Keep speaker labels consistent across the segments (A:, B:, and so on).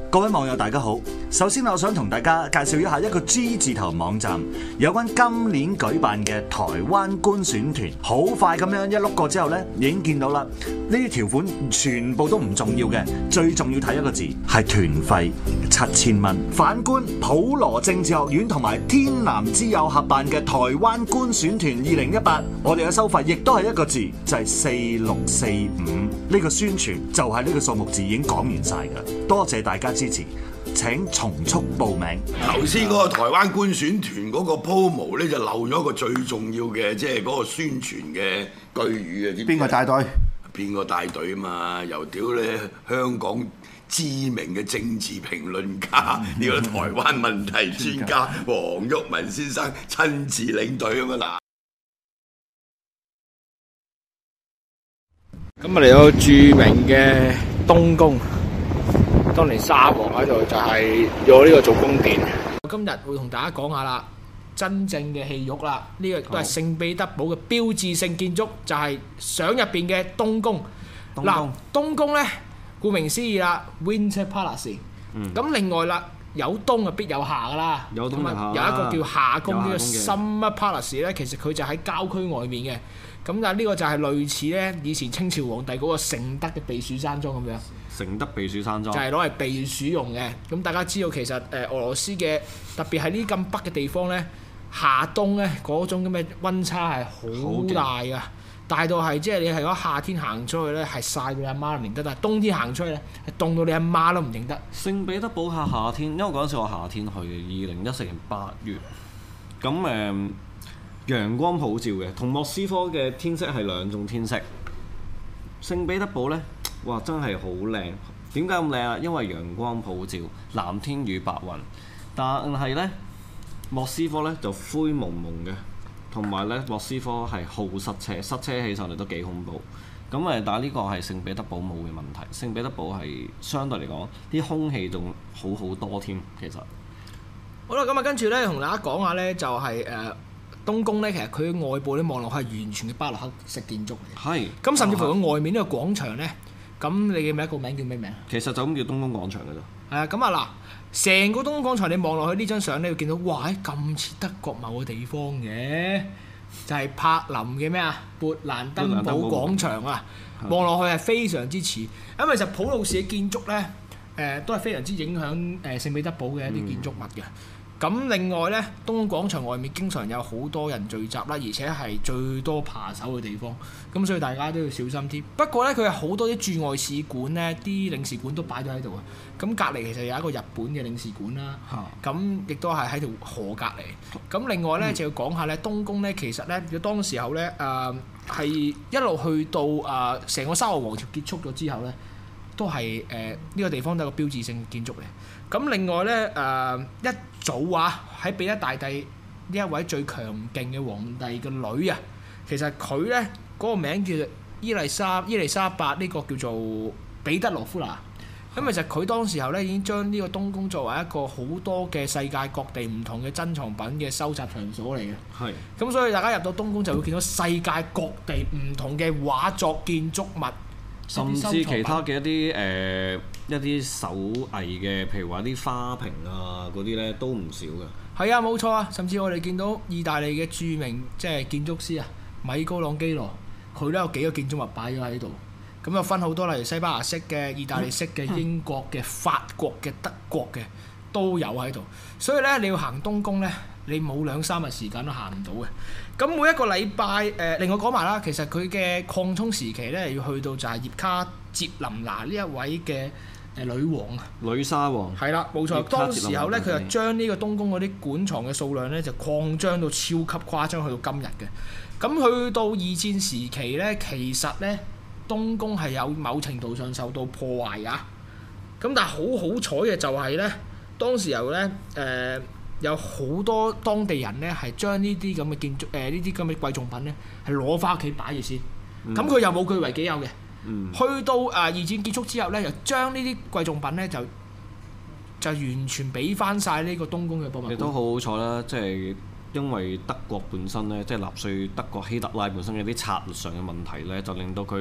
A: 各位網友大家好，首先我想同大家介紹一下一個 G 字頭網站，有關今年舉辦嘅台灣觀選團。好快咁樣一碌過之後呢，已經見到啦。呢啲條款全部都唔重要嘅，最重要睇一個字係團費7000蚊。反觀普羅政治學院同埋天南之友合辦嘅台灣觀選團2018，我哋嘅收費亦都係一個字，就係4645。呢個宣傳就係呢個數目字已經講完晒㗎。多謝大家支持，請從速報名。
B: 頭先嗰個台灣觀選團嗰個 promo 咧，就漏咗一個最重要嘅，即係嗰個宣傳嘅句語啊！知唔知
C: 邊個帶隊？
B: 邊個帶隊啊嘛？又屌咧香港知名嘅政治評論家，呢個台灣問題專家黃毓民先生親自領隊啊嘛嗱。
D: 咁啊嚟到著名嘅東宮，當年沙皇喺度就係用呢個做宮殿。今日會同大家講下啦，真正嘅戲肉啦，呢個都係聖彼得堡嘅標誌性建築，就係相入邊嘅東宮。嗱，東宮咧，顧名思義啦 ，Winter Palace。咁另外啦，有冬啊必有夏噶啦。有冬有夏。有一個叫夏宮呢個 Summer Palace 咧，其實佢就喺郊區外面嘅。咁但係呢個就係類似咧以前清朝皇帝嗰個承德嘅避暑山莊咁樣。
E: 承德避暑山莊就
D: 係攞嚟避暑用嘅。咁大家知道其實俄羅斯嘅特別係呢咁北嘅地方咧，夏冬咧嗰種咁嘅溫差係好大㗎，大到係即係你係嗰夏天行出去咧係曬到你阿媽都唔認得，但係冬天行出去咧係凍到你阿媽都唔認得。
E: 聖彼得堡夏天，因為嗰陣時我夏天去嘅，2014年8月，咁陽光普照嘅，同莫斯科嘅天色係兩種天色。聖彼得堡呢，哇真係好靚，點解咁靚啊？因為陽光普照，藍天與白雲。但係呢，莫斯科呢就灰蒙蒙嘅，同埋呢莫斯科係好塞車，塞車起上嚟都幾恐怖。咁但係呢個係聖彼得堡冇嘅問題。聖彼得堡係相對嚟講，啲空氣仲好好多添。其實
D: 好啦，咁啊跟住呢，同大家講下呢，就係東宮咧，其實佢外部咧望落係完全嘅巴洛克式建築嚟嘅。
E: 係。
D: 咁甚至乎佢外面呢個廣場咧，咁你記唔記得個名叫咩名？
E: 其實就咁叫東宮廣場嘅啫。
D: 係啊，咁啊嗱，成個東宮廣場你望落去呢張相咧，會見到哇，咁似德國某個地方嘅，就係柏林嘅咩啊？勃蘭登堡廣場啊，望落去係非常之似。咁其實普魯士嘅建築咧，都係非常之影響聖彼得堡嘅一啲建築物嘅。咁另外咧，東宮廣場外面經常有好多人聚集啦，而且係最多扒手嘅地方，咁所以大家都要小心啲。不過咧，佢有好多啲駐外使館咧，啲領事館都擺咗喺度啊。咁隔離其實有一個日本嘅領事館啦，咁亦都係喺條河隔離。咁另外咧就要講下咧，東宮咧其實咧，佢當時候咧係一路去到成個沙俄王朝結束咗之後咧，都係呢個地方都係個標誌性建築嚟。咁另外咧一早喺彼得大帝呢一位最強勁嘅皇帝嘅女啊，其實佢咧嗰個名叫做伊麗莎白，呢個叫做彼得羅夫娜。咁其實佢當時候咧已經將呢個東宮作為一個好多嘅世界各地唔同嘅珍藏品嘅收集場所嚟嘅。係。咁所以大家入到東宮就會見到世界各地唔同嘅畫作建築物。
E: 甚至其他嘅一啲手藝嘅，譬如話啲花瓶啊嗰啲咧都唔少嘅。
D: 係啊，冇錯啊！甚至我哋見到意大利嘅著名即係建築師啊，米高朗基羅，佢都有幾個建築物擺咗喺度。咁又分好多，例如西班牙式嘅、意大利式嘅、英國嘅、法國嘅、德國嘅都有喺度。所以咧，你要行東宮咧，你冇2-3日時間都行唔到嘅。咁每一個禮拜另外講埋啦，其實佢嘅擴充時期咧，要去到就係葉卡捷琳娜呢一位嘅女王啊，
E: 女沙皇。係啦，
D: 冇錯。當時候咧，佢就將呢個東宮嗰啲館藏嘅數量咧，就擴張到超級誇張，去到今日嘅。咁去到二戰時期咧，其實咧東宮係有某程度上受到破壞㗎。咁但係好彩嘅就係咧，當時候咧有好多當地人咧係將呢啲咁嘅建築呢啲咁嘅貴重品咧係攞翻屋企擺住先。咁佢又冇據為己有嘅。去到二戰結束之後咧，就將呢啲貴重品咧就完全俾翻晒呢個東宮嘅博物館。
E: 亦都好好彩啦，即係因為德國本身咧，即係納粹德國希特拉本身有啲策略上嘅問題咧，就令到佢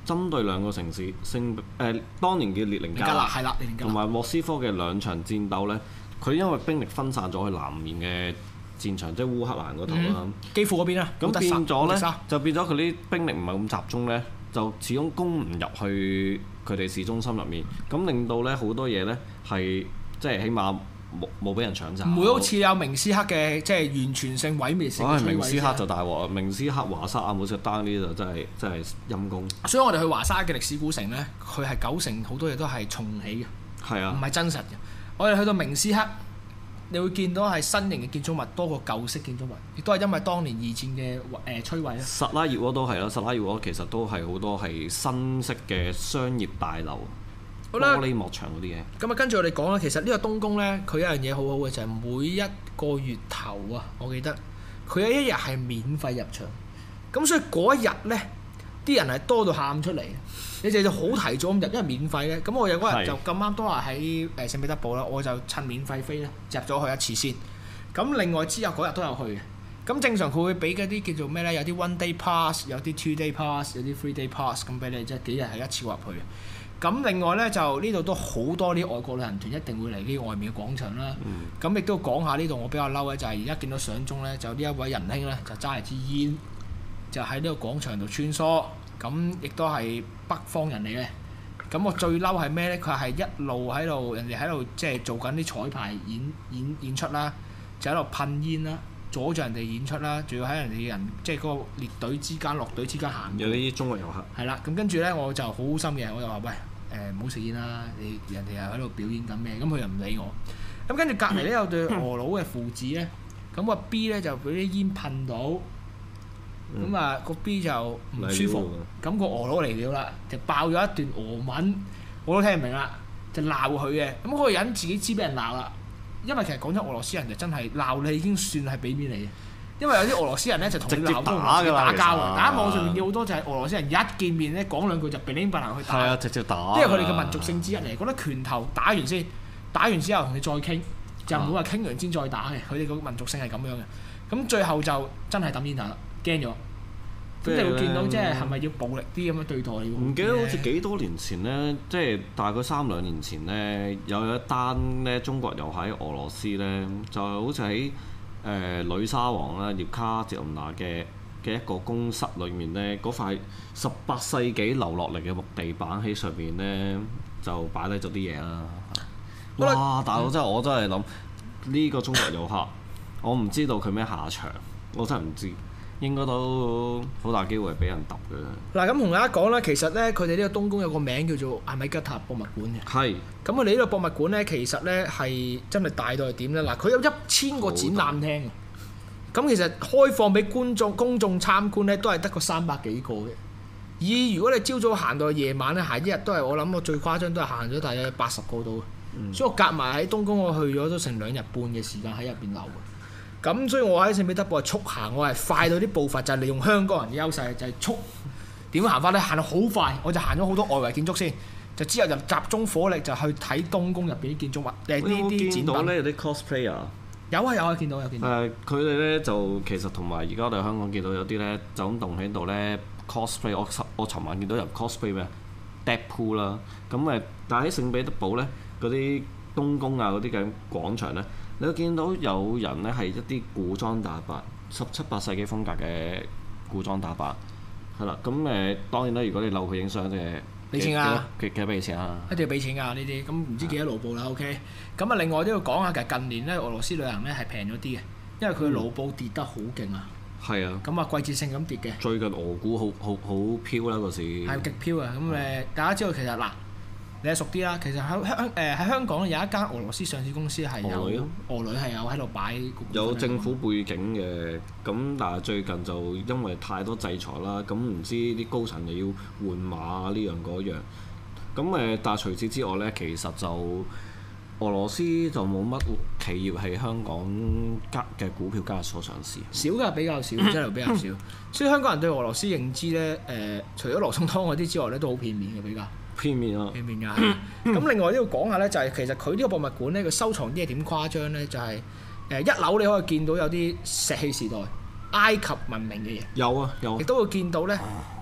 E: 針對兩個城市當年嘅列寧格勒
D: 係啦，列寧格勒
E: 同埋莫斯科嘅兩場戰鬥咧，佢因為兵力分散咗去南面嘅戰場，即係烏克蘭嗰度啦，
D: 基輔嗰邊啊，
E: 咁變咗咧
D: 呢
E: 就變咗佢啲兵力唔係咁集中咧，就始終攻唔入去佢哋市中心入面，咁令到咧好多嘢咧係即係起碼冇俾人搶走，
D: 唔會好似有明斯克嘅即係完全性毀滅性。
E: 明斯克就大鑊，明斯克、華沙、阿姆斯特丹呢啲就真係陰公。
D: 所以我哋去華沙嘅歷史古城咧，佢係90%好多嘢都係重起嘅，
E: 係啊，
D: 唔係真實嘅。我哋去到明斯克，你會見到係新型嘅建築物多過舊式建築物，亦都係因為當年二戰嘅摧毀咧。
E: 薩拉熱窩都係啦，薩拉熱窩其實都係好多係新式嘅商業大樓。
D: 好啦，
E: 玻璃幕牆嗰啲嘢。
D: 咁啊，跟住我哋講啦，其實呢個東宮咧，佢有一樣嘢好好嘅就係每一個月頭啊，我記得佢有一日係免費入場。咁所以嗰一日咧，啲人係多到喊出嚟。你哋就好提早咁入，因為免費咧。咁我有嗰日就咁啱都係喺聖彼得堡啦，我就趁免費飛咧入咗去一次先。咁另外之後嗰日都有去嘅。咁正常佢會俾嗰啲叫做咩咧？有啲 one day pass， 有啲 two day pass， 有啲 three day pass， 咁俾你即係幾日係一次過入去嘅。咁另外咧就呢度都好多啲外國旅行團一定會嚟呢外面嘅廣場啦。咁亦都講下呢度我比較嬲嘅就係而家見到相中咧，就呢一位仁兄咧就揸住支煙，就喺呢個廣場度穿梭。咁亦都係北方人嚟嘅。咁我最嬲係咩咧？佢係一路喺度，人哋喺度即係做緊啲彩排演出啦，就喺度噴煙啦，阻住人哋演出啦，仲要喺人哋嘅人即係嗰個列隊之間、落隊之間行。
E: 有啲中國遊客。
D: 係啦，咁跟住咧我就好好心嘅，我就話喂唔好食煙啦，你人哋又喺度表演緊咩？咁佢又唔理我。咁跟住隔離咧有對俄佬嘅父子咧，咁個 B 咧就俾啲煙噴到。咁啊個 B 就唔舒服，咁個俄佬嚟了啦，就爆咗一段俄文，我都聽唔明啦，就鬧佢嘅。咁嗰個人自己知俾人鬧啦，因為其實講真，俄羅斯人就真係鬧你已經算係俾面你嘅，因為有啲俄羅斯人咧就同你鬧都打交啊！大家網上面見好多就係俄羅斯人一見面咧講兩句就乒乒乓乓去打，
E: 係啊，直接打。
D: 因為佢哋嘅民族性之一嚟，覺得拳頭打完先，打完之後同你再傾，就唔會話傾完先再打嘅。佢哋個民族性係咁樣嘅。咁最後就真係抌煙頭啦。驚咗，咁你會見到即係咪要暴力啲咁樣對待你？
E: 唔記得好似幾多年前咧，即係大概3-2年前咧，有一單咧中國遊喺俄羅斯咧，就係好似喺女沙皇啦，葉卡捷琳娜嘅一個宮室裏面咧，嗰塊18世紀留落嚟嘅木地板喺上面咧，就擺低咗啲嘢啦。哇！大佬真係我真係諗呢個中國遊客，我唔知道佢咩下場，我真係唔知。應該都好大機會係俾人揼嘅。嗱，
D: 咁同大家講啦，其實咧，佢哋呢個東宮有個名叫做阿米吉塔博物館嘅。
E: 係。
D: 咁佢哋呢個博物館咧，其實咧係真係大到係點咧？嗱，佢有1000個展覽廳。咁其實開放俾公眾參觀咧，都係得個300幾個嘅。如果你朝早行到夜晚咧，行一日都係我諗我最誇張都係行咗大約80個度。所以我夾埋喺東宮，我去咗都成2日半嘅時間喺入邊留。咁所以我喺聖彼得堡係速行，我係快到啲步伐就係利用香港人嘅優勢，就係速點樣行法咧？行到好快，我就行咗好多外圍建築先，就之後就集中火力就去睇東宮入邊啲建築物，呢啲展品。見到咧有啲 cosplayer。有啊，見到。
E: 佢哋咧就其實同埋而家我哋香港見到有啲咧就咁棟喺度咧 cosplay。我尋晚見到有 cosplay 咩 Deadpool 啦，咁但係喺聖彼得堡咧嗰啲東宮啊嗰啲嘅廣場咧。你會見到有人咧係一啲古裝打扮，17、18世紀風格嘅古裝打扮，係啦。咁當然啦，如果你留佢影相嘅，
D: 俾錢啊！
E: 幾多俾錢啊？
D: 一定要俾錢㗎呢啲，咁唔知幾多盧布啦。OK，咁啊另外都要講下，其實近年咧俄羅斯旅行咧係平咗啲嘅，因為佢盧布跌得好勁啊。係啊。咁啊季節性咁跌嘅。最近俄股好飄啦嗰時。係極飄啊！咁大家知道其實嗱。你係熟啲啦，其實喺香港有一間俄羅斯上市公司係有俄女係有喺度擺有政府背景嘅，咁但係最近就因為太多制裁啦，咁唔知啲高層又要換馬呢樣嗰樣，咁但係除此之外咧，其實就俄羅斯就冇乜企業喺香港嘅股票交易所上市，少㗎比較少，真係比較少，所以香港人對俄羅斯認知咧除咗羅宋湯嗰啲之外咧，都好片面嘅比較。片面㗎。咁另外都要講下咧，就係其實佢呢個博物館咧，佢收藏啲嘢點誇張咧？就係一樓你可以見到有啲石器時代埃及文明嘅嘢。有。亦都會見到咧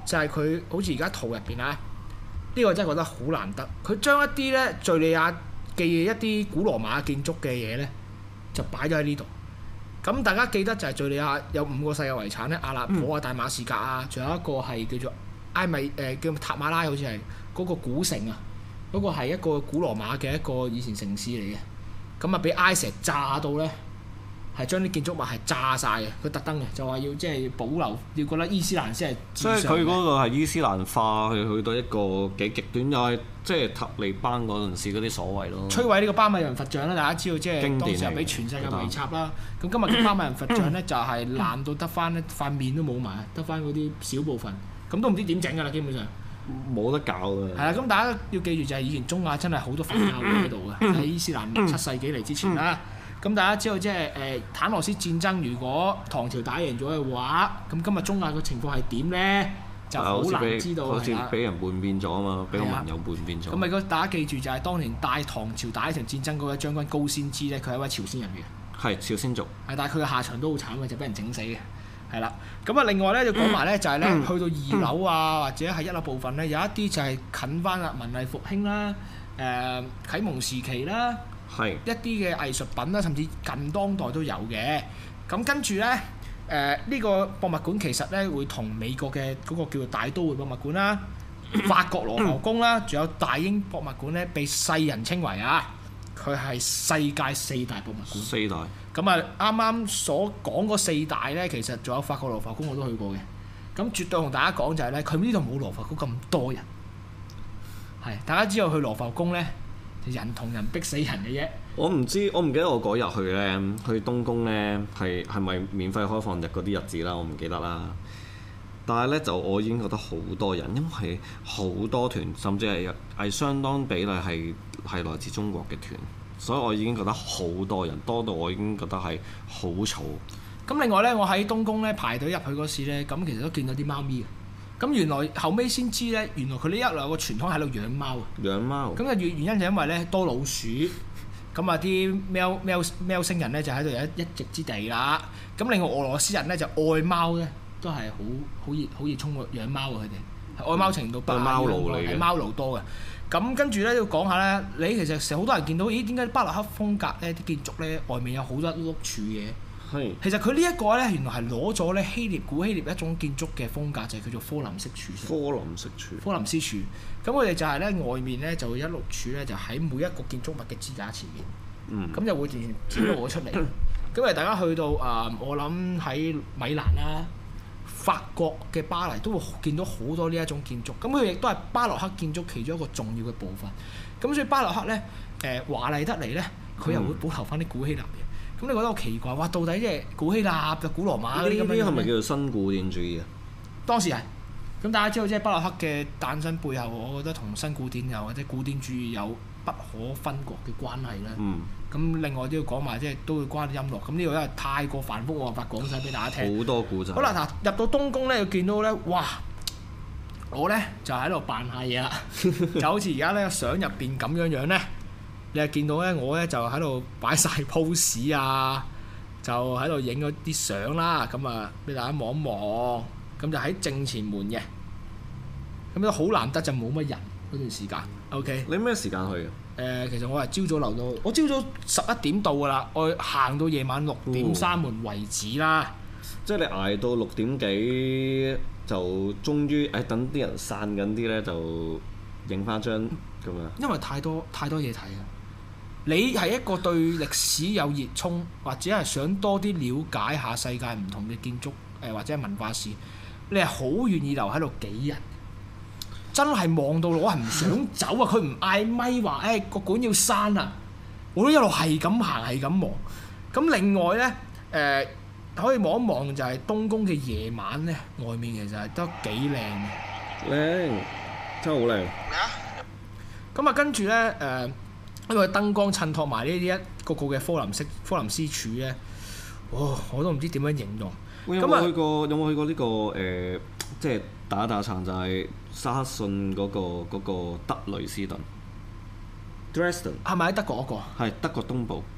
D: 就係佢好似而家圖入邊啊，呢個真係覺得好難得。佢將一啲咧敍利亞嘅一啲古羅馬建築嘅嘢咧，就擺咗喺呢度。咁大家記得就係敍利亞有5個世界遺產咧，阿勒頗啊、大馬士革啊，仲有一個係叫做埃米叫塔馬拉，好似係嗰個古城啊，嗰、個係一個古羅馬嘅一個以前城市嚟嘅。咁啊，俾埃石炸到咧，係將啲建築物係炸晒嘅。佢特登嘅就話要即係保留，要覺得伊斯蘭先係至上嘅。
E: 所以佢嗰個係伊斯蘭化，去到一個幾極端，又係即係塔利班嗰陣時嗰啲所謂咯。
D: 摧毀呢個巴米人佛像啦，大家知道即係
E: 經典
D: 當時係俾全世界圍插啦。咁今日嘅巴米人佛像咧就係爛到得翻咧塊面都冇埋，得翻嗰啲小部分。咁都唔知點整㗎啦，基本上。
E: 冇得搞㗎。
D: 係啦，咁大家要記住就係以前中亞真係好多佛教喺度嘅，喺伊斯蘭7世紀嚟之前啦。咁大家知道即係坦羅斯戰爭，如果唐朝打贏咗嘅話，咁今日中亞嘅情況係點咧？就好難知道。
E: 好似俾人叛變咗啊嘛，俾個盟友叛變咗。
D: 咁咪如果大家記住就係當年帶唐朝打呢場戰爭嗰位將軍高仙芝咧，佢係一位朝鮮人嘅。
E: 係朝鮮族。
D: 係，但係佢嘅下場都好慘嘅，就俾人整死嘅。係啦，咁啊另外咧就講埋咧就係咧去到2樓啊或者係1樓部分咧，有一啲就係近翻啦文藝復興啦、啟蒙時期啦，
E: 係
D: 一啲嘅藝術品啦，甚至近當代都有嘅。咁跟住咧呢個博物館其實咧會同美國嘅嗰個叫做大都會博物館啦、法國羅浮宮啦，仲有大英博物館咧，被世人稱為啊，佢係世界4大博物館。
E: 4大。
D: 咁啊，啱啱所講嗰4大咧，其實仲有法國羅浮宮我都去過嘅。咁絕對同大家講就係咧，佢呢度冇羅浮宮咁多人。係，大家知道去羅浮宮咧，人同人逼死人嘅啫。
E: 我唔記得我嗰日去咧，去東宮咧係咪免費開放日嗰啲日子啦，我唔記得啦。但係咧就我已經覺得好多人，因為好多團，甚至係相當比例係來自中國嘅團。所以我已經覺得好多人，多到我已經覺得係好嘈。
D: 咁另外咧，我喺東宮咧排隊入去嗰時咧，咁其實都見到啲貓咪嘅。咁原來後尾先知咧，原來佢呢一路有個傳統喺度養貓啊。
E: 養貓。咁
D: 嘅原因就因為咧多老鼠，咁啊啲喵星人咧就喺度有一席之地啦。咁另外俄羅斯人咧就愛貓咧，都係好熱衷養貓啊！佢哋係愛貓程度不亞於
E: 貓奴嚟嘅，
D: 係貓奴多嘅。咁跟住咧要講下咧，你其實成日好多人見到，咦點解巴洛克風格咧啲建築咧外面有好多碌柱嘅？
E: 係。
D: 其實佢呢一個咧原來係攞咗咧古希臘一種建築嘅風格，就係叫做科林式柱。科林斯柱。咁佢哋就係咧外面咧就會一碌柱咧就喺每一個建築物嘅支架前面。咁就會自然展露咗出嚟。咁大家去到我諗喺米蘭啦、法國嘅巴黎都會見到好多呢一種建築，咁佢亦都係巴洛克建築其中一個重要嘅部分。咁所以巴洛克咧華麗得嚟咧，佢又會保留翻啲古希臘嘅。咁你覺得好奇怪？哇！到底即係古希臘就古羅馬嗰啲咁樣？
E: 呢啲係咪叫做新古典主義啊？
D: 當時係。咁大家知道即係巴洛克嘅誕生背後，我覺得同新古典或者古典主義有不可分割嘅關係啦。咁另外都要講埋，即係都會關啲音樂。咁呢個因為太過繁複，冇辦法講晒俾大家聽。
E: 好多故仔。
D: 好啦，嗱入到東宮咧，要見到咧，哇！我咧就喺度扮下嘢啦，就好似而家咧相入邊咁樣咧，你係見到咧，我咧就喺度擺晒 pose 啊，就喺度影咗啲相啦。咁啊，俾大家望一望，咁就喺正前門嘅，咁都好難得就冇乜人嗰段時間。OK。
E: 你咩時間去嘅？
D: 其實我係朝早留到，我朝早11點到㗎啦，我行到夜晚6點閂門為止啦。
E: 即係你捱到6點幾就終於等啲人散緊啲咧，就影翻張咁樣。
D: 因為太多嘢睇啊！你係一個對歷史有熱衷，或者係想多啲了解下世界唔同嘅建築或者係文化史，你係好願意留喺度幾日。真係望到我係唔想走啊！佢唔嗌咪話個館要閂啊！我都一路係咁行係咁望。咁另外咧可以望一望就係東宮嘅夜晚咧，外面其實係都幾靚嘅。
E: 靚，真係好靚。
D: 咁啊跟住咧因為燈光襯托埋呢啲一個個嘅科林斯柱咧，我都唔知點樣形容。
E: 有冇去過呢個即係打撐就係沙克遜嗰個德累斯頓 Dresden
D: 係咪喺德國嗰個？
E: 係德國東部。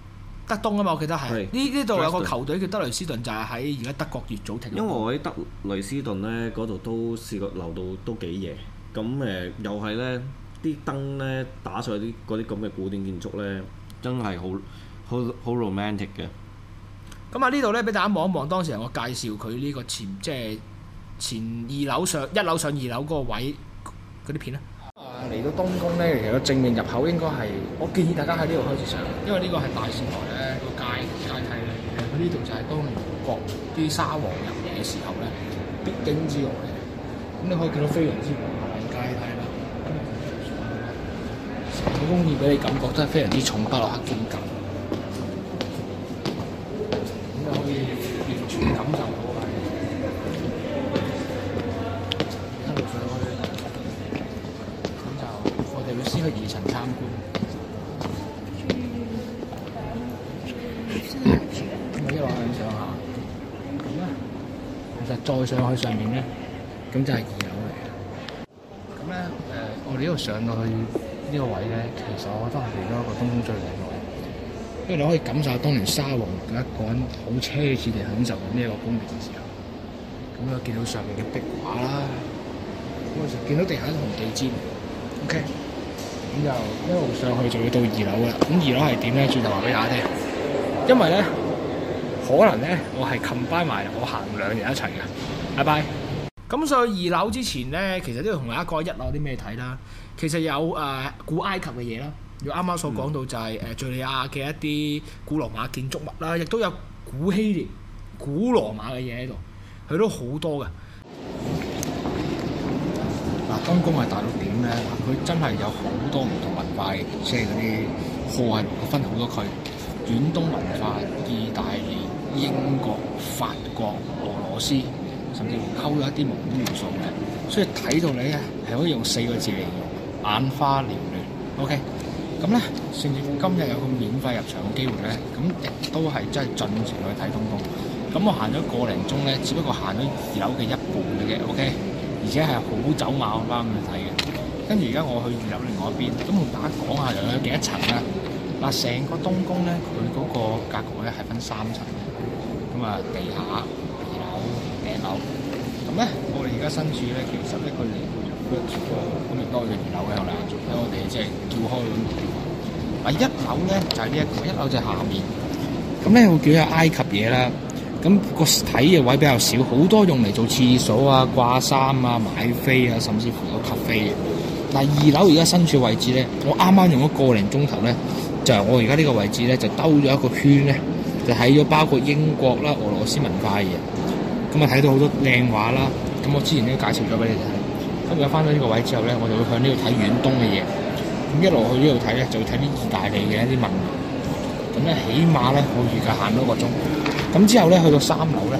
D: 德東啊嘛，我記得係
E: 係
D: 呢度有個
E: Dresden
D: 球隊叫德雷斯頓，就係喺而家德國乙組踢。
E: 因為我喺德雷斯頓咧嗰度都試過留到都幾夜，咁又係咧啲燈咧打上去嗰啲咁嘅古典建築咧，真係好 romantic 嘅。
D: 咁啊呢度咧俾大家望一望，當時我介紹佢呢個即係前二樓上一樓上二樓嗰個位嗰啲片咧。嚟到東宮咧，其實個正面入口應該係，我建議大家喺呢度開始上，因為呢個係大使台咧個階梯嚟嘅。佢呢度就係當年國啲沙皇入嚟嘅時候咧必經之路嚟嘅。咁你可以見到非常之華麗階梯啦。成個工業俾你感覺都係非常之重巴洛克風格。咁你可以完全感受到係一路上去。我哋會先去二層參觀，咁一路向上下，咁咧其實再上去上面咧，咁就係二樓嚟嘅。咁咧我哋呢度上到去呢個位咧，其實我覺得係嚟咗一個東宮最靚嘅位，因為你可以感受到當年沙皇佢一個人好奢侈地享受緊呢一個宮殿嘅時候。咁又見到上面嘅壁畫啦，咁我就見到地下紅地氈 ，OK。咁就一路上去就要到二樓㗎啦。咁二樓係點咧？轉頭話俾大家聽。因為咧，可能咧，我係 combine 埋我行2日一齊嘅。拜拜。咁上去二樓之前咧，其實都要同大家講一樓有啲咩睇啦。其實有古埃及嘅嘢啦，如啱啱所講到就係敍利亞嘅一啲古羅馬建築物啦，亦都有古希臘、古羅馬嘅嘢喺度，佢都好多嘅。東宮係大陸點咧？佢真係有好多唔同文化嘅，即係嗰啲課係分好多區，遠東文化、意大利、英國、法國、俄羅斯，甚至乎溝咗一啲蒙古元素嘅，所以睇到你咧係可以用4個字嚟形容，眼花繚亂。OK，咁咧，甚至乎今日有個免費入場嘅機會咧，咁亦都係真係盡情去睇東宮。咁我行咗個零鐘咧，只不過行咗2樓嘅一半嘅啫。OK。而且係好走馬咁去睇嘅，跟住而家我去2樓另外一邊，咁同大家講下又有幾多層啦。嗱，成個東宮咧，佢嗰個格局咧係分3層嘅，咁啊地下、2樓、頂樓。咁咧，我哋而家身處咧，其實咧佢離咁亦多咗2樓嘅後嚟，因為我哋即係叫開咁嘅地方。嗱，1樓咧就係呢一個，1樓就係下面。咁咧會叫有埃及嘢啦。咁個睇嘅位比較少，好多用嚟做廁所啊、掛衫啊、買飛啊，甚至乎有咖啡嘅。但係2樓而家身處位置咧，我啱啱用咗個零鐘頭咧，就係我而家呢個位置咧，就兜咗一個圈咧，就睇咗包括英國啦、俄羅斯文化嘅嘢。咁啊睇到好多靚畫啦。咁我之前都介紹咗俾你哋睇。咁而家翻到呢個位之後咧，我就會向呢度睇遠東嘅嘢。咁一路去呢度睇咧，就會睇啲意大利嘅一啲文物。咁咧，起碼咧，我預計行多1個鐘。咁之後咧，去到3樓咧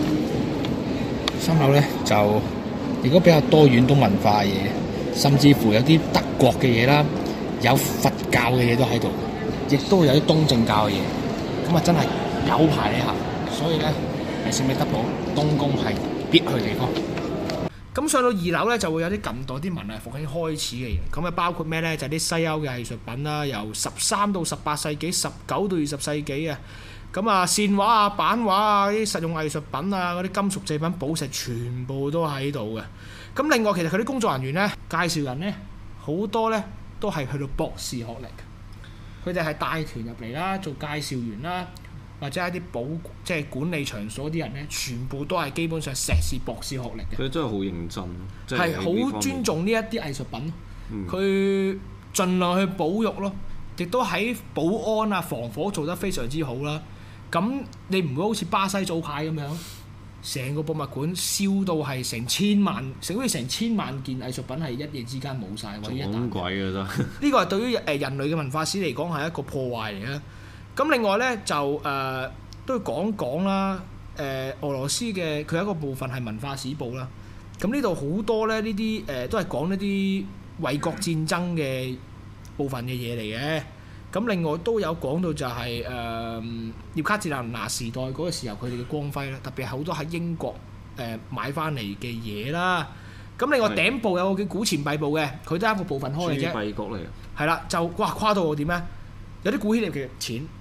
D: ，3樓咧就如果比較多遠東文化嘅嘢，甚至乎有啲德國嘅嘢啦，有佛教嘅嘢都喺度，亦都有啲東正教嘅嘢。咁啊，真係有排你行。所以咧，喺聖彼得堡東宮係必去地方。咁上到2樓咧，就會有啲近代啲文藝復興開始嘅嘢。咁啊，包括咩咧？就係啲西歐嘅藝術品啦，由13到18世紀、19到20世紀啊。咁啊，線畫啊、版畫啊、啲實用藝術品啊、嗰啲金屬製品、寶石，全部都喺度嘅。咁另外，其實佢啲工作人員咧、介紹人咧，好多咧都係去到博士學歷。佢哋係帶團入嚟啦，做介紹員啦，或者係啲即係管理場所啲人咧，全部都係基本上碩士、博士學歷嘅。
E: 佢真係好認真，
D: 係好尊重呢一啲藝術品。佢盡量去保育咯，亦都喺保安啊、防火做得非常之好啦。咁你唔會好似巴西組牌咁樣，成個博物館燒到係成千萬，好似成千萬件藝術品係一夜之間冇晒，或者一啖。
E: 鬼嘅真。呢
D: 個係對於人類嘅文化史嚟講係一個破壞嚟嘅。咁另外咧就都要講講啦。俄羅斯嘅佢有一個部分係文化史報啦。咁呢度好多咧呢啲都係講一啲衛國戰爭嘅部分嘅嘢嚟嘅。咁另外都有講到就係葉卡捷琳娜時代嗰個時候佢哋嘅光輝啦，特別係好多喺英國買翻嚟嘅嘢啦。咁另外頂部有個叫古錢幣部嘅，佢都係一個部分開嘅啫。
E: 幣局嚟嘅。
D: 係啦，就哇誇到我點咧？有啲古希臘嘅錢，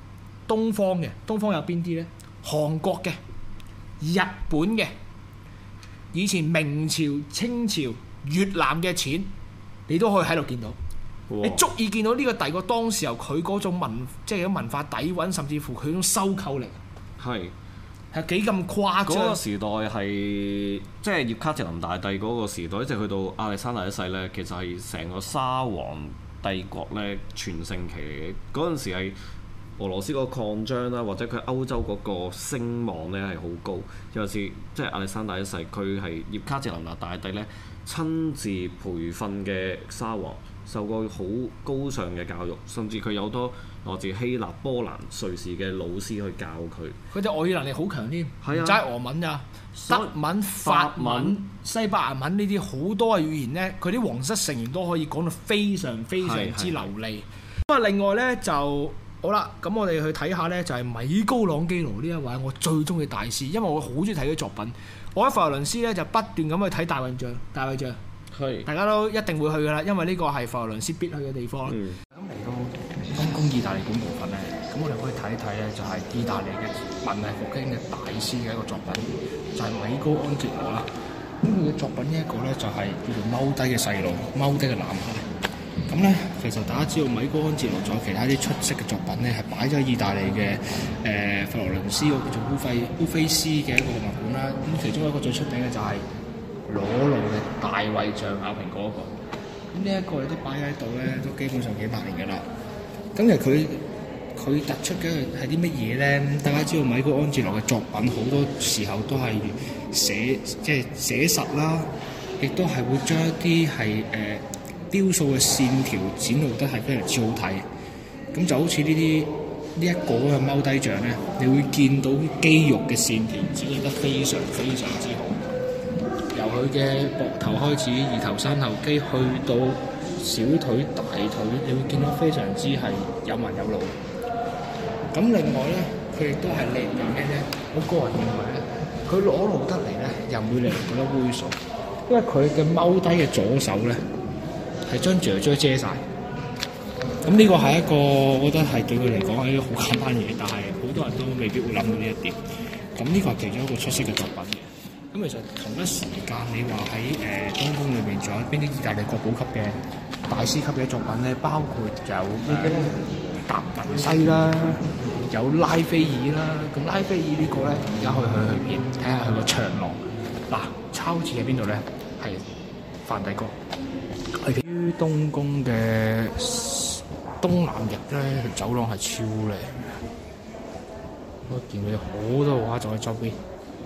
D: 東方有邊啲咧？韓國嘅、日本嘅，以前明朝、清朝、越南嘅錢，你都可以喺度見到。你足以見到呢個帝國當時候佢嗰種即係文化底蘊，甚至乎佢嗰種收購力係幾咁誇張。
E: 嗰個時代係即係葉卡捷琳大帝嗰個時代，一直去到亞歷山大一世咧，其實係成個沙皇帝國咧全盛期嚟嘅。嗰陣時係俄羅斯嗰個擴張啦，或者佢歐洲嗰個聲望咧係好高。尤其是即係亞歷山大一世，佢係葉卡捷琳大帝咧親自培訓嘅沙皇。受過好高尚嘅教育，甚至佢有好多來自希臘、波蘭、瑞士嘅老師去教佢。
D: 佢隻外語能力好強添，
E: 係啊，
D: 齋俄文咋，德文、法文、西班牙文呢啲好多嘅語言咧，佢啲皇室成員都可以講到非常非常之流利。咁啊，另外咧就好啦，咁我哋去睇下咧，就係米高朗基羅呢一位我最中意大師，因為我好中意睇佢作品。我喺佛羅倫斯咧就不斷咁去睇大衛像。大家都一定會去㗎啦，因為呢個係佛羅倫斯必去嘅地方。咁嚟到東宮意大利館部分咧，咁我哋可以睇一睇咧，就係意大利嘅文藝復興嘅大師嘅一個作品，就係米高安哲羅啦。咁佢嘅作品呢一個咧就係叫做踎低嘅細路，踎低嘅男孩。咁咧，其實大家知道米高安哲羅仲有其他啲出色嘅作品咧，係擺咗喺意大利嘅佛羅倫斯嗰個叫做烏菲斯嘅一個博物館啦。咁其中一個最出名嘅就係裸露嘅大衛像咬蘋果嗰個，咁呢一個亦都擺喺度咧，都基本上幾百年嘅啦。咁其實佢突出嘅係啲乜嘢咧？大家知道米高安哲羅嘅作品好多時候都係寫實啦，亦都係會將一啲係雕塑嘅線條展露得係非常之好睇。咁就好似呢一個嘅踎低像咧，你會見到肌肉嘅線條展現得非常非常之好。由佢嘅膊頭開始，二頭三頭肌去到小腿、大腿，你會見到非常之係有紋有路。咁另外咧，佢亦都係靚在咩咧？我個人認為咧，佢裸露得嚟咧，又唔會令人覺得猥瑣，因為佢嘅踎低嘅左手咧，係將雀遮晒。咁呢個係一個，我覺得係對佢嚟講係一個好簡單嘅嘢，但係好多人都未必會諗到呢一點。咁呢個係其中一個出色嘅作品嘅。咁其實同一時間，你話喺東宮裏邊仲有邊啲意大利國寶級嘅大師級嘅作品咧？包括有達文西啦，有拉斐爾啦。咁拉斐爾呢個咧，而家可以去片睇下佢個長廊。嗱，抄字喺邊度咧？係梵蒂岡。於東宮嘅東南翼咧，走廊係超靚嘅。我見到有好多畫作喺周邊。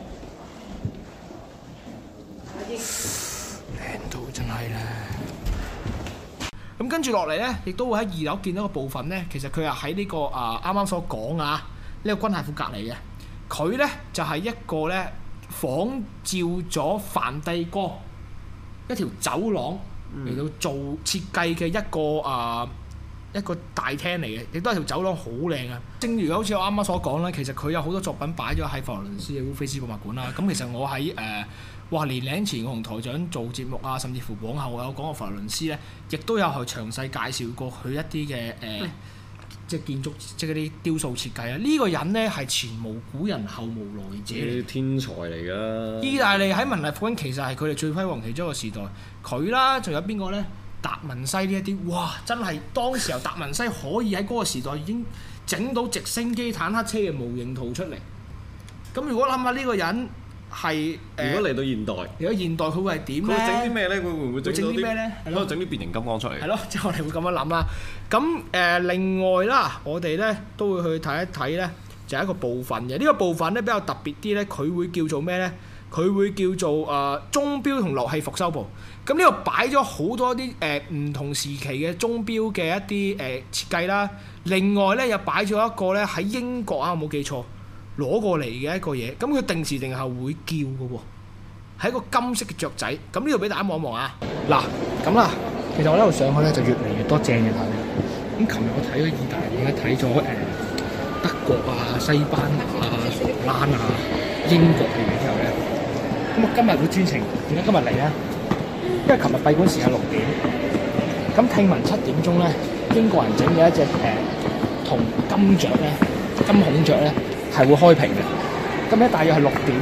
D: 靚到真係咧！咁跟住落嚟咧，亦都會喺2樓見到個部分咧，其實佢係喺呢個啱啱所講呢個軍械庫隔離嘅。佢咧就係一個咧仿照咗梵蒂岡一條走廊嚟到做設計嘅一個大廳嚟嘅，亦都係條走廊好靚啊！正如好似我啱啱所講啦，其實佢有好多作品擺咗喺佛羅倫斯嘅烏菲斯博物館啦。咁其實我喺年零前我同台長做節目啊，甚至乎往後我有講過佛羅倫斯咧，亦都有去詳細介紹過佢一啲嘅即係建築，即係嗰啲雕塑設計啊。呢個人咧係前無古人後無來者，
E: 天才嚟㗎。
D: 意大利喺文藝復興其實係佢哋最輝煌其中一個時代。佢啦，仲有邊個咧？達文西呢一啲，哇！真係當時候達文西可以喺嗰個時代已經整到直升機、坦克車嘅模型圖出嚟。咁如果諗下呢個人係
E: 如果嚟到現代，
D: 佢會係點咧？
E: 佢整啲咩咧？佢會唔會整啲
D: 咩咧？
E: 喺度整啲變形金剛出嚟？
D: 係咯，即係我哋會咁樣諗啦。咁另外啦，我哋咧都會去睇一睇咧，就係一個部分嘅。呢個部分咧比較特別啲咧，佢會叫做咩咧？佢會叫做鐘錶同樂器復修部。咁呢度擺咗好多啲唔同時期嘅鐘錶嘅一啲設計啦。另外咧又擺咗一個咧喺英國我冇記錯攞過嚟嘅一個嘢。咁佢定時定候會叫嘅喎，係一個金色嘅雀仔。咁呢度俾大家望一望啊！嗱，咁啦，其實我呢度上去咧就越嚟越多正嘅睇。咁琴日我睇咗意大利咧，睇咗德國啊、西班牙啊、荷蘭啊、英國嘅嘢之後咧，咁我今日會專程點解今日嚟咧？因為琴日閉館時間6點，咁聽聞7點鐘咧，英國人整嘅一隻銅金雀咧， 金孔雀咧係會開屏嘅。咁咧大約係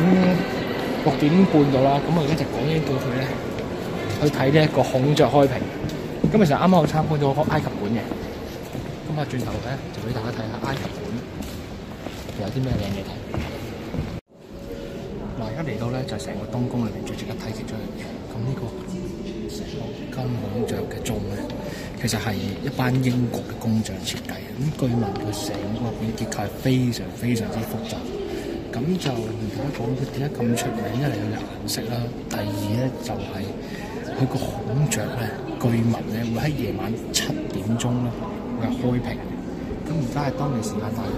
D: 6點半到啦。咁我而家就趕緊到去咧去睇呢一個孔雀開屏。咁其實啱啱我參觀咗個埃及館嘅。咁啊轉頭咧就俾大家睇下埃及館有啲咩靚嘢睇。嗱，而家嚟到咧就係成個東宮裏邊最值得睇其中一樣嘢。咁呢個成個金孔雀嘅鐘咧，其實係一班英國嘅工匠設計嘅。咁據聞佢成個入邊結構係非常非常之複雜。咁就而家講佢點解咁出名，一嚟佢嘅顏色啦，第二咧就係佢個孔雀咧，據聞咧會喺夜晚7點鐘咧會係開屏。咁而家係當地時間大約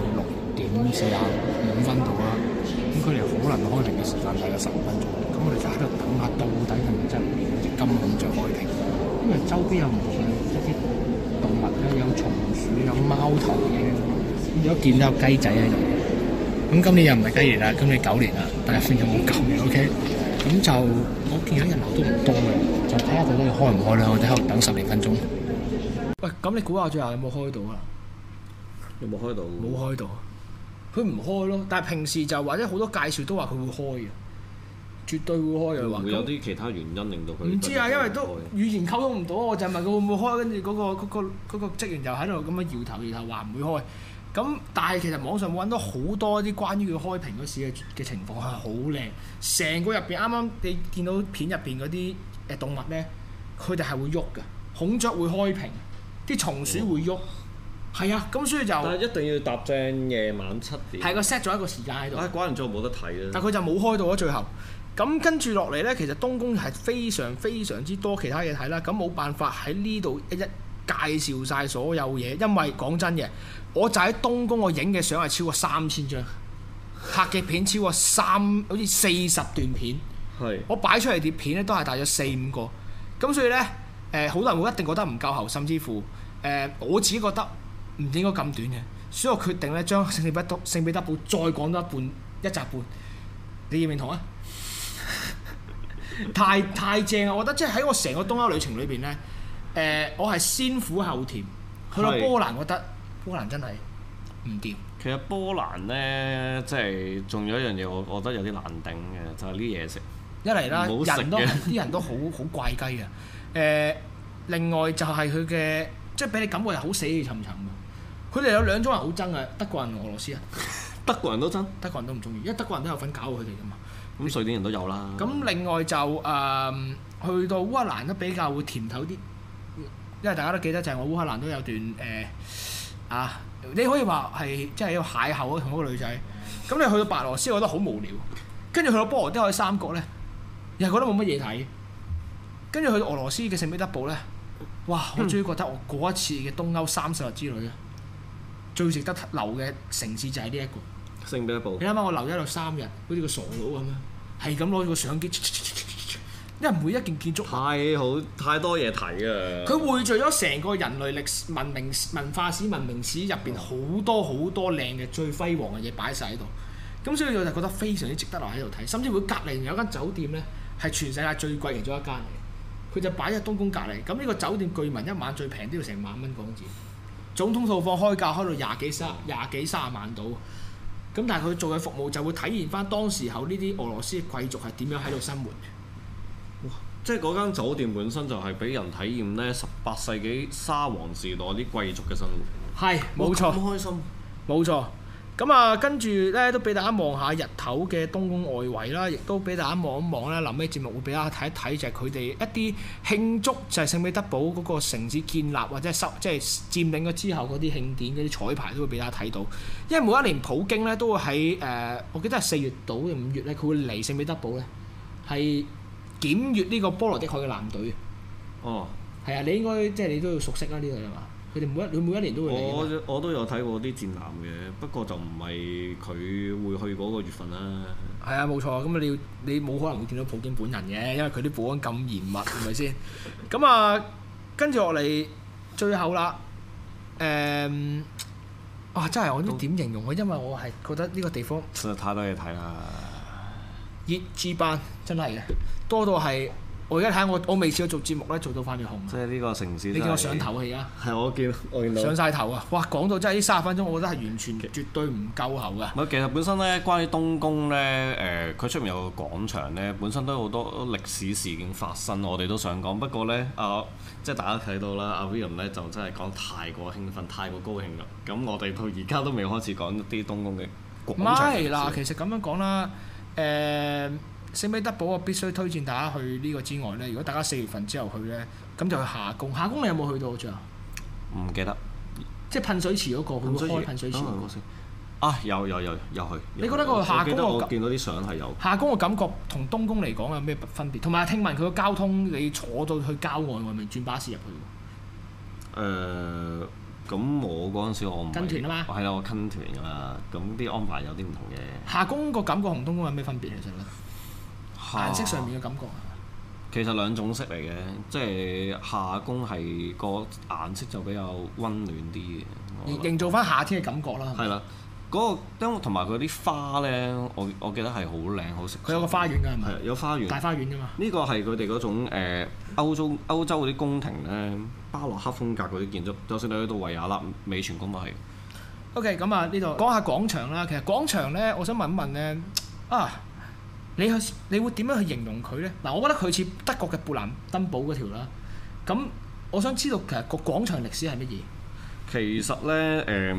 D: 6:45度啦。咁佢哋可能開屏嘅時間大約15分鐘。咁我哋就喺度等下，到底係咪真係會見到隻金孔雀開屏？因為周邊有唔同嘅一啲動物咧，有松鼠、有貓頭鷹，咁如果見到有雞仔喺度。咁今年又唔係雞年啦，今年9年啦，但係又冇9年 OK。咁就我見到人流都唔多嘅，就睇下到底開唔開啦。我哋喺度等10零分鐘。喂，咁你估下最後有冇開到啊？
E: 有冇開到？
D: 冇開到，佢唔開咯。但係平時就或者好多介紹都話佢會開嘅，絕對會開嘅話。
E: 會有啲其他原因令到佢？
D: 唔知啊，因為都語言溝通唔到，我就問佢會唔會開，跟住嗰個職員又喺度咁樣搖頭話唔會開。咁但係其實網上揾到好多啲關於佢開屏嗰時嘅情況係好靚，成個入邊啱啱你見到片入邊嗰啲動物咧，佢哋係會喐嘅，孔雀會開屏，啲松鼠會喐，係啊，咁所以就
E: 但係一定要搭正夜晚7點。
D: 係個 set 咗一個時間喺度。
E: 關人咗冇得睇啦。
D: 但佢就冇開到啊最後。咁跟住落嚟咧，其實東宮係非常非常之多其他嘢睇啦。咁冇辦法喺呢度一介紹晒所有嘢，因為講真嘅，我就喺東宮我影嘅相係超過3000張，拍嘅片超過好似40段片。
E: 係。
D: 我擺出嚟啲片咧都係大約4-5個，咁所以咧好多人會一定覺得唔夠喉，甚至乎我自己覺得唔應該咁短嘅，所以我決定咧將聖彼得堡再講多一集半，你認唔認同啊？太正啊！我覺得即係喺我成個東歐旅程裏邊咧。我係先苦後甜，去到波蘭覺得波蘭真係唔掂。
E: 其實波蘭咧，即係仲有一樣嘢，我覺得有啲難頂嘅，就係啲嘢食。
D: 一嚟啦，啲人都好怪雞嘅。另外就係佢嘅，即係俾你感覺係好死氣沉沉嘅。佢哋有2種人好憎嘅，德國人同俄羅斯啊。
E: 德國人都憎，
D: 德國人都唔中意，因為德國人都有份搞佢哋㗎嘛。
E: 咁瑞典人都有啦。
D: 咁另外就去到烏克蘭都比較會甜頭啲。因為大家都記得就係我烏克蘭都有段你可以話係即係一個邂逅同嗰個女仔。咁你去到白羅斯，我覺得好無聊。跟住去到波羅的海三國咧，又係覺得冇乜嘢睇。跟住去到俄羅斯嘅聖彼得堡咧，哇！我終於覺得我嗰一次嘅東歐30日之旅咧，最值得留嘅城市就係呢一個
E: 聖彼得堡。
D: 你諗下，我留咗喺度3日，好似個傻佬咁樣，係咁攞住個相機。因為每一件建築
E: 太多嘢睇啊！
D: 佢匯聚咗成個人類歷史、文化史、文明史入邊好多好多靚嘅最輝煌嘅嘢擺晒喺度，咁所以我就覺得非常之值得留喺度睇。甚至會隔離有間酒店咧，係全世界最貴其中一間嚟，佢就擺喺東宮隔離。咁呢個酒店據聞一晚最平都要成萬蚊港紙，總統套房開價開到20幾30萬到。咁但係佢做嘅服務就會體現翻當時候呢啲俄羅斯嘅貴族係點樣喺度生活。
E: 即係嗰間酒店本身就係俾人體驗咧18世紀沙皇時代啲貴族嘅生活。
D: 係，冇錯。
E: 咁開心。冇
D: 錯。咁跟住咧都俾大家望下日頭嘅東宮外圍啦，亦都俾大家望一望咧。臨尾節目會俾大家睇一睇，就係佢哋一啲慶祝就係聖彼得堡嗰個城市建立或者即係佔領咗之後嗰啲慶典嗰啲彩排都會俾大家睇到。因為每一年普京咧都會喺我記得係4月到定5月咧，佢會嚟聖彼得堡咧係檢閱呢個波羅的海嘅艦隊。
E: 哦，
D: 係啊，你應該即係你都要熟悉啦呢度係嘛？佢哋每一年都會嚟。
E: 我都有睇過啲戰艦嘅，不過就唔係佢會去嗰個月份啦。
D: 係啊，冇錯。咁你冇可能會見到普京本人嘅，因為佢啲保安咁嚴密，係咪先？咁跟住落嚟最後啦，真係我唔知點形容啊，因為我係覺得呢個地方
E: 實在太多嘢睇啦。
D: 熱G班真係嘅，多到係我而家睇我未試過做節目咧，做到塊面紅。
E: 即係呢個城市，
D: 你見我上頭啊而家？
E: 係我見到
D: 上晒頭啊！哇，講到真係呢30分鐘，我覺得係完全絕對唔夠喉㗎。
E: 唔係，其實本身咧，關於東宮咧，佢出面有個廣場咧，本身都有好多歷史事件發生，我哋都想講。不過咧，即係大家睇到啦，阿 William 咧就真係講太過興奮、太過高興啦。咁我哋到而家都未開始講一啲東宮嘅廣場。
D: 唔係嗱，其實咁樣講啦，聖彼得堡我必須推薦大家去呢個之外咧，如果大家4月份之後去咧，咁就去夏宮。夏宮你有冇去到最後？
E: 唔記得。
D: 即係噴水池嗰個，佢會開噴水池嗰個先。
E: 有去。
D: 你覺得個夏宮
E: 我見到啲相係有。
D: 夏宮嘅感覺同東宮嚟講有咩分別？同埋聽聞佢個交通，你坐到去郊外外面轉巴士入去。
E: 咁我嗰陣時我唔
D: 跟團啊嘛。
E: 係啦，我跟團㗎嘛。咁啲安排有啲唔同嘅。
D: 夏宮個感覺同東宮有咩分別其實咧？顏色上面嘅感覺
E: 其實兩種色嚟嘅，即係夏宮係個顏色就比較温暖啲嘅，
D: 營造翻夏天嘅感覺啦。
E: 係啦，嗰個因為同埋佢啲花咧，我記得係好靚好食。
D: 佢有個花園㗎係咪？
E: 係有花園。
D: 大花園㗎嘛。
E: 呢個係佢哋嗰種歐洲嗰啲宮廷咧，巴洛克風格嗰啲建築，就算你去到維也納美泉宮都係。
D: OK， 咁啊呢度講下廣場啦。其實廣場咧，我想問一問咧你會點樣去形容佢咧？嗱，我覺得佢似德國嘅勃蘭登堡嗰條啦。咁我想知道其實個廣場歷史係乜嘢？
E: 其實咧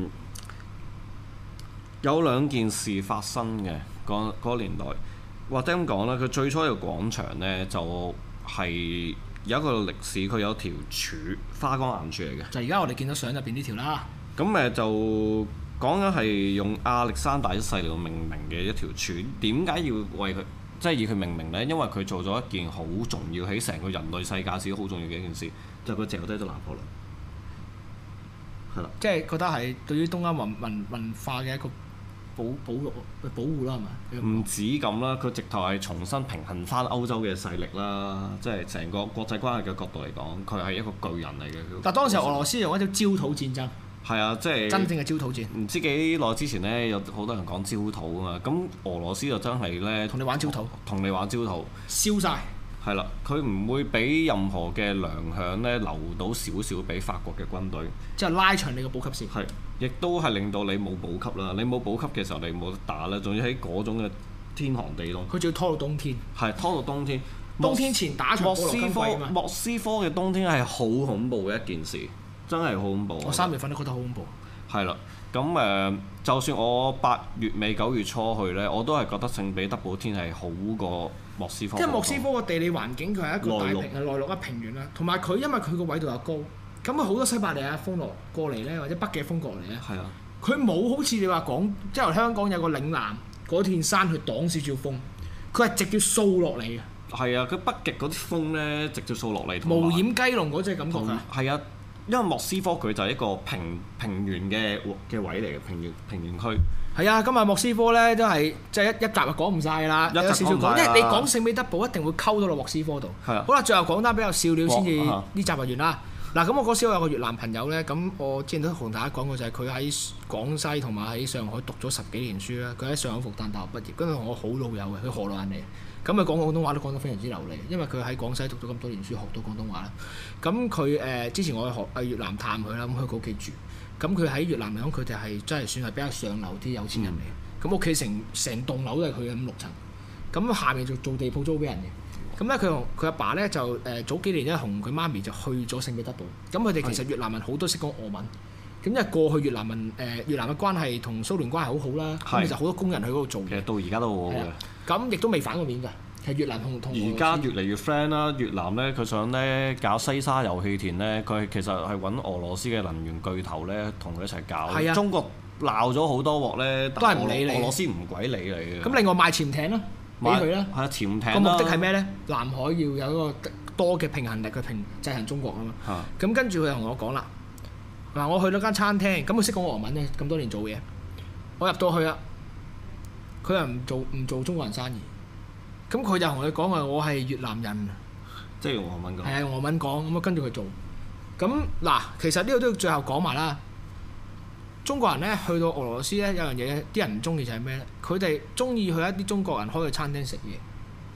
E: 有兩件事發生嘅嗰個年代，或者咁講啦，佢最初嘅廣場咧就係有一個歷史，佢有條柱花崗岩柱嚟嘅。
D: 就而家我哋見到相入邊呢條啦。
E: 咁就講緊係用亞歷山大一世嚟到命名嘅一條柱，點解要為佢即係以佢命名呢？因為佢做咗一件好重要喺成個人類世界史好重要嘅一件事，就係佢掟低咗拿破崙。係啦，
D: 即係覺得係對於東歐文化嘅一個保護啦，係咪？
E: 唔止咁啦，佢直頭係重新平衡翻歐洲嘅勢力啦，即係成個國際關係嘅角度嚟講，佢係一個巨人嚟嘅。
D: 但當時俄羅斯用一條焦土戰爭。
E: 係啊，即係
D: 真正嘅焦土戰。
E: 唔知幾耐之前咧，有好多人講焦土啊嘛。咁俄羅斯就真係咧，
D: 同你玩焦土，燒晒。
E: 係啦，佢唔會俾任何嘅糧餉咧留到少少俾法國嘅軍隊，
D: 即係拉長你個補給線。
E: 係，亦都係令到你冇補給啦。你冇補給嘅時候，你冇得打啦。仲要喺嗰種嘅天寒地凍。
D: 佢仲要拖到冬天。
E: 係拖到冬天。
D: 冬天前打場波羅金季啊嘛。
E: 莫斯科嘅冬天係好恐怖嘅一件事。真係好恐怖！
D: 我3月份都覺得好恐怖。
E: 係啦，咁就算我8月尾9月初去咧，我都係覺得聖彼得堡天係好過莫斯科。
D: 即係莫斯科個地理環境，佢係一個大平嘅內陸一平原啦，同埋佢因為佢個緯度又高，咁佢好多西伯利亞風落過嚟咧，或者北嘅風過嚟咧。係啊。佢冇好似你話講，即係香港有個嶺南嗰片山去擋少少風，佢係直接掃落嚟嘅。係
E: 啊，佢北極嗰啲風咧，直接掃落嚟。
D: 無掩雞籠嗰隻感覺㗎。
E: 係啊。因為莫斯科佢就係一個平原嘅位嚟嘅平原區。
D: 係啊，今日莫斯科咧都係即係一集就講唔晒㗎啦，有少少講，因為你講聖彼得堡一定會溝到落莫斯科度。係啊。好啦，最後講單比較笑料先至呢集就完啦。嗱，咁我嗰時我有個越南朋友咧，咁我之前都同大家講過就係佢喺廣西同埋喺上海讀咗10幾年書啦。佢喺上海復旦大學畢業，跟住同我好老友嘅，佢荷蘭人嚟。咁佢講廣東話都講得非常之流利，因為佢喺廣西讀咗咁多年書，學到廣東話啦。咁佢之前我去越南探佢啦，咁去佢屋企住。咁佢喺越南嚟講，佢哋係真係算係比較上流啲有錢人嚟嘅。咁屋企成棟樓都係佢嘅5、6層。咁下面就做地鋪租俾人嘅。咁咧佢同佢阿爸咧就早幾年咧同佢媽咪就去咗聖彼得堡。咁佢哋其實越南人好多識講俄文。咁因為過去越南嘅關係同蘇聯關係好好啦，咁其實好多工人去嗰度做嘢。
E: 其實到而家都好好嘅。咁
D: 亦都未反過面㗎。係越南同
E: 而家越嚟越 friend 啦。越南咧佢想咧搞西沙油氣田咧，佢其實係揾俄羅斯嘅能源巨頭咧同佢一齊搞。係啊。中國鬧咗好多鑊咧，
D: 都係唔理你。
E: 俄羅斯唔鬼理你嘅。
D: 咁另外賣潛艇啦，俾佢啦。
E: 係啊，潛艇啦。
D: 個目的係咩咧？南海要有一個多嘅平衡力去制衡中國啊嘛。咁跟住佢同我講啦，嗱我去到間餐廳，咁佢識講俄文咧，咁多年做嘢，我入到去啦，佢又唔做中國人生意。咁佢就同佢講話，我係越南人，
E: 即係用俄文講。係
D: 啊，用俄文講，咁啊跟住佢做。咁嗱，其實呢個都要最後講埋啦。中國人咧去到俄羅斯咧，有樣嘢啲人唔中意就係咩咧？佢哋中意去一啲中國人開嘅餐廳食嘢。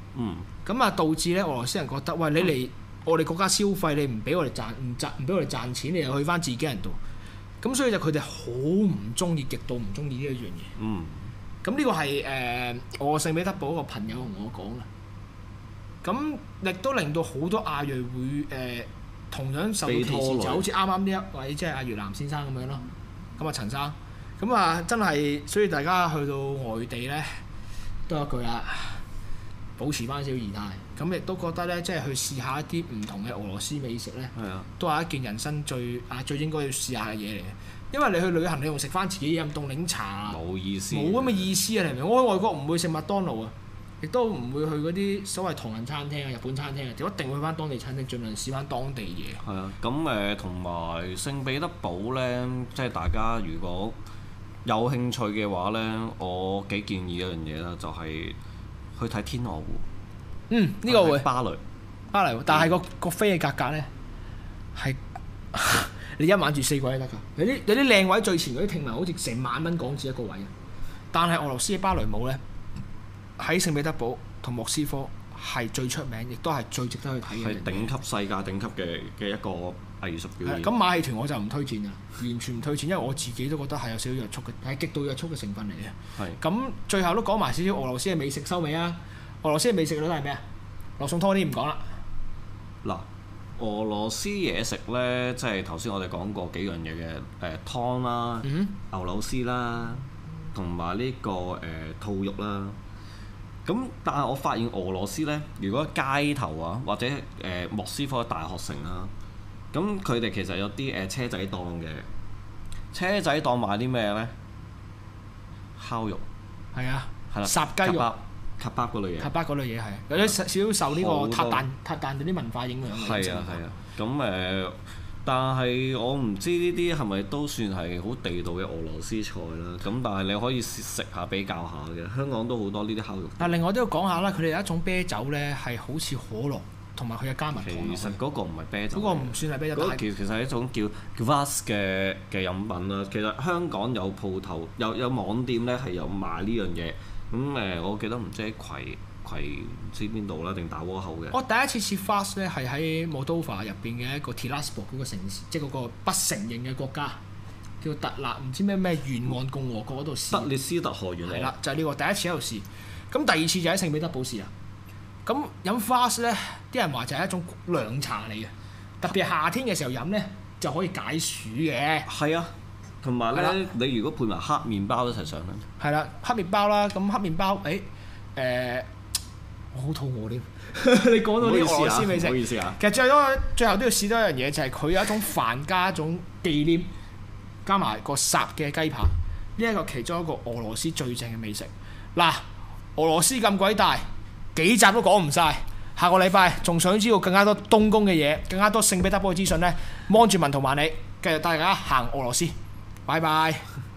D: 咁啊導致咧俄羅斯人覺得，喂，你嚟我哋國家消費，你唔俾我哋唔俾我哋賺錢，你又去翻自己人度，咁所以就佢哋好唔中意，極度唔中意呢一樣嘢。咁呢個係我聖彼得堡個朋友同我講啦。咁亦都令到好多亞裔會同樣受到歧視，就好似啱啱呢一位即係阿越南先生咁樣咯。咁啊陳生，咁啊真係，所以大家去到外地咧，都有一句啦，保持翻少儀態。咁亦都覺得咧，即係去試下一啲唔同嘅俄羅斯美食咧，都係一件人生最應該要試下嘅嘢嚟嘅。因為你去旅行，你用食翻自己飲凍檸茶，
E: 冇意思，
D: 冇咁嘅意思啊！你明唔明？我喺外國唔會食麥當勞啊，亦都唔會去嗰啲所謂唐人餐廳啊、日本餐廳啊，就一定會去翻當地餐廳，盡量試翻當地嘢。係啊，
E: 咁同埋聖彼得堡咧，即係大家如果有興趣嘅話咧，我幾建議一樣嘢啦，就係去睇天鵝湖。
D: 呢個會
E: 巴黎，
D: 但係個飛嘅價格咧係。你一晚住4個都得㗎，有啲靚位最前嗰啲聽聞好似成萬蚊港紙一個位，但係俄羅斯嘅芭蕾舞咧喺聖彼得堡同莫斯科係最出名，亦都係最值得去睇嘅。
E: 係頂級世界頂級嘅一個藝術表演。
D: 咁馬戲團我就唔推薦啦，完全唔推薦，因為我自己都覺得係有少少約束嘅，係極度約束嘅成分嚟嘅。咁最後都講埋少少俄羅斯嘅美食收尾啊！俄羅斯嘅美食都係咩啊？羅宋湯啲唔講啦。
E: 嗱。俄羅斯嘢食咧，即係頭先我哋講過幾樣嘢嘅湯啦、牛柳絲啦，同埋呢個兔肉啦。咁但係我發現俄羅斯咧，如果街頭啊或者莫斯科大學城啦，咁佢哋其實有啲車仔檔嘅。車仔檔賣啲咩咧？烤肉。係
D: 啊。
E: 係啦。
D: 烚雞肉。
E: 卡巴嗰類嘢，係
D: 有啲少少受呢個塔彈嗰啲文化影響嘅。
E: 係啊。咁但係我唔知呢啲係咪都算係好地道嘅俄羅斯菜啦。咁但係你可以食下比較下嘅，香港都好多呢啲烤肉。
D: 但另外都要講下啦，佢哋有一種啤酒咧係好似可樂，同埋佢嘅加密糖。
E: 其實嗰個唔係啤酒，嗰個
D: 唔算係啤酒。
E: 嗰個其實係一種叫 Kvass 嘅飲品啦。其實香港有鋪頭有網店咧係有賣呢樣嘢。咁我記得唔知喺葵唔知邊度啦，定大窩口嘅。
D: 我第一次試 Kvass 咧係喺 Moldova 入邊嘅一個 Tiraspol 嗰個城市，即係嗰個不承認嘅國家，叫特納唔知咩沿岸共和國嗰度試。
E: 德列斯特河沿岸。係啦，
D: 就係呢個第一次喺度試。咁第二次就喺聖彼得堡試啊。咁飲 Kvass 咧，啲人話就係一種涼茶嚟嘅，特別係夏天嘅時候飲咧就可以解暑嘅。
E: 係啊。同埋咧，你如果配埋黑麵包一齊上咧，
D: 係啦，黑麵包啦，咁黑麵包，我好肚餓添。你講到啲俄羅斯美食，
E: 唔好意思啊。
D: 其實最後都要試多一樣嘢，就係佢有一種飯加一種忌廉，加埋個烚嘅雞扒，呢一個其中一個俄羅斯最正嘅美食。嗱，俄羅斯咁鬼大，幾集都講唔晒。下個禮拜仲想知道更加多東宮嘅嘢，更加多聖彼得堡嘅資訊咧，望住文圖萬里，繼續帶大家行俄羅斯。拜拜。